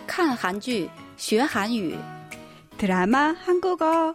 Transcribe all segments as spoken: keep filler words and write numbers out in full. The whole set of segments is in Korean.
看韩剧学韩语 드라마 한국어.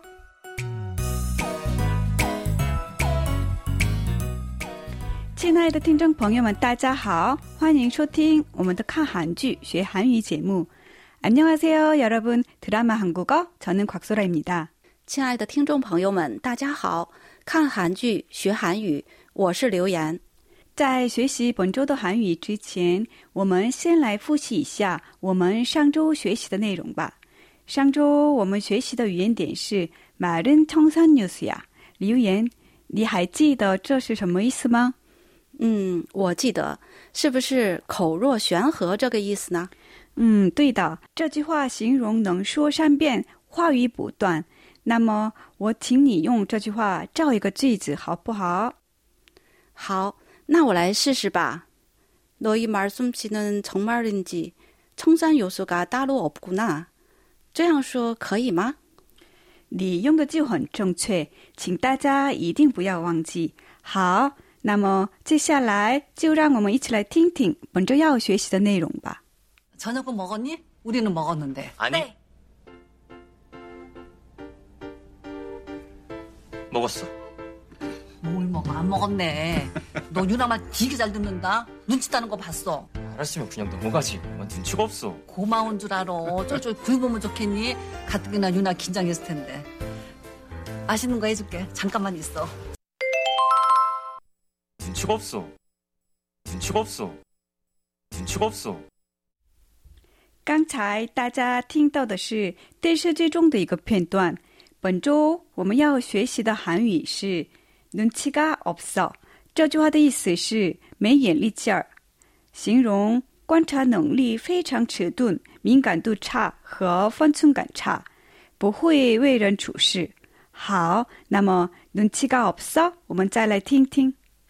亲爱的听众朋友们大家好，欢迎收听我们的看韩剧学韩语节目。 안녕하세요 여러분, 드라마 한국어, 저는 곽소라입니다. 亲爱的听众朋友们大家好，看韩剧学韩语，我是刘岩。 在学习本周的韩语之前，我们先来复习一下我们上周学习的内容吧。上周我们学习的语言点是말은 청산유수야。 刘岩，你还记得这是什么意思吗？ 嗯，我记得，是不是口若悬河这个意思呢？ 嗯，对的，这句话形容能说善辩，话语不断。那么我请你用这句话造一个句子好不好？ 好，那我来试试吧。 너희 말솜씨는 정말인지 청산 요소가 따로 없구나。 这样说可以吗？ 你用的就很正确，请大家一定不要忘记。好，那么接下来就让我们一起来听听本周要学习的内容吧。 저녁은 먹었니? 우리는 먹었는데. 아니. 네. 먹었어. 뭘 먹어? 안 먹었네. 너 유나 말 되게 잘 듣는다. 눈치 따는 거 봤어. 알았으면 그냥 넘어가지. 난 눈치가 없어. 고마운 줄 알아. 쫄쫄 굴보면 좋겠니? 가뜩이나 유나 긴장했을 텐데. 맛있는 거 해줄게. 잠깐만 있어. 눈치가 없어. 눈치가 없어. 눈치가 없어. 刚才大家听到的是电视剧中的一个片段。本周我们要学习的韩语是눈치가 없어。 这句话的意思是没眼力劲儿，形容观察能力非常迟钝，敏感度差和分寸感差，不会为人处事。好，那么눈치가 없어， 我们再来听听。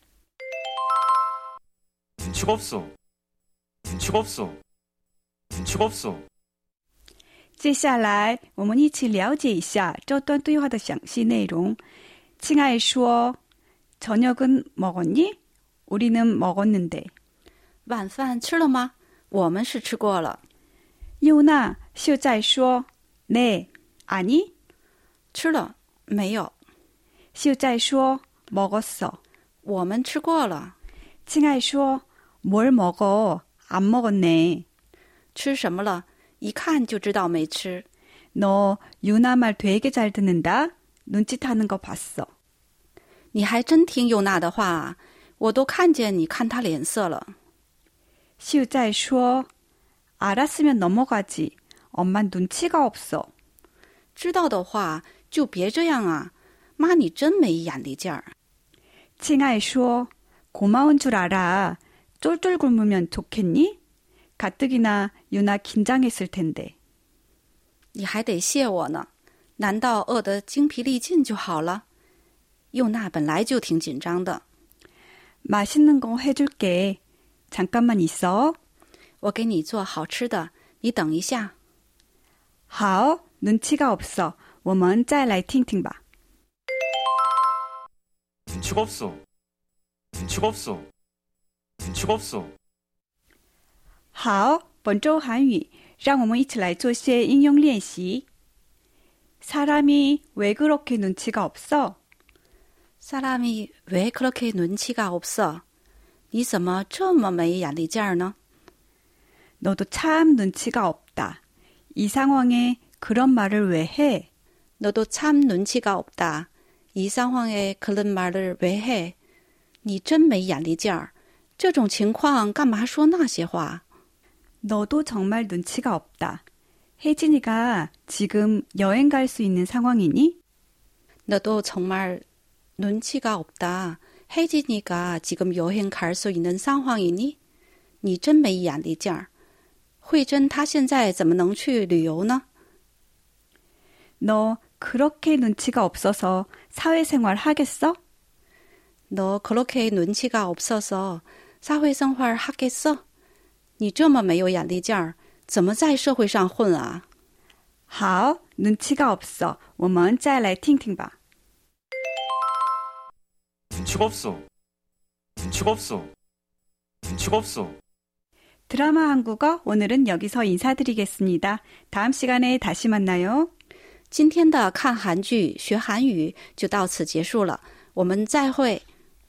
눈치가 없어. 눈치가 없어. 눈치가 없어. 接下来我们一起了解一下这段对话的详细内容。亲爱说 저녁은 먹었니? 우리는 먹었는데. 晚饭吃了吗？我们是吃过了。 유나秀在说 네, 아니? 吃了，没有。 秀在说 먹었어. 我们吃过了。 亲爱说 뭘 먹어? 안 먹었네. 吃什么了？一看就知道没吃。 너 유나 말 되게 잘 듣는다. 눈짓하는 거 봤어. 你还真听尤娜的话啊，我都看见你看她脸色了。 秀在说 알았으면 넘어가지. 엄마 눈치가 없어. 知道的话就别这样啊，妈你真没眼力劲儿。 亲爱说 고마운 줄 알아. 쫄쫄 굶으면 좋겠니? 가뜩이나 유나 긴장했을 텐데. 你还得谢我呢，难道饿得精疲力尽就好了？尤娜本来就挺紧张的。 맛있는 거 해줄게. 잠깐만 있어. 我给你做好吃的，你等一下。 好, 눈치가 없어. 我们再来听听吧。 눈치가 없어. 눈치가 없어. 눈치가 없어. 好，本周韩语，让我们一起来做些应用练习。 사람이 왜 그렇게 눈치가 없어? 사람이 왜 그렇게 눈치가 없어? 你怎么这么没眼力劲儿呢？ 너도 참 눈치가 없다. 이 상황에 그런 말을 왜 해? 너도 참 눈치가 없다. 이 상황에 그런 말을 왜 해? 你真没眼力劲儿，这种情况干嘛说那些话？ 너도 정말 눈치가 없다. 혜진이가 지금 여행 갈 수 있는 상황이니? 너도 정말 눈치가 없다. 혜진이가 지금 여행 갈 수 있는 상황이니? 你真没眼力劲儿。慧珍她现在怎么能去旅游呢？ 너 그렇게 눈치가 없어서 사회생활 하겠어? 너 그렇게 눈치가 없어서 사회생활 하겠어? 你这么没有眼力劲儿，怎么在社会上混啊？ 好, 눈치가 없어. 我们再来听听吧。 눈치가 없어. 눈치가 없어. 눈치가 없어. 드라마 한국어 오늘은 여기서 인사드리겠습니다. 다음 시간에 다시 만나요. 今天的看韩剧学韩语就到此结束了，我们再会。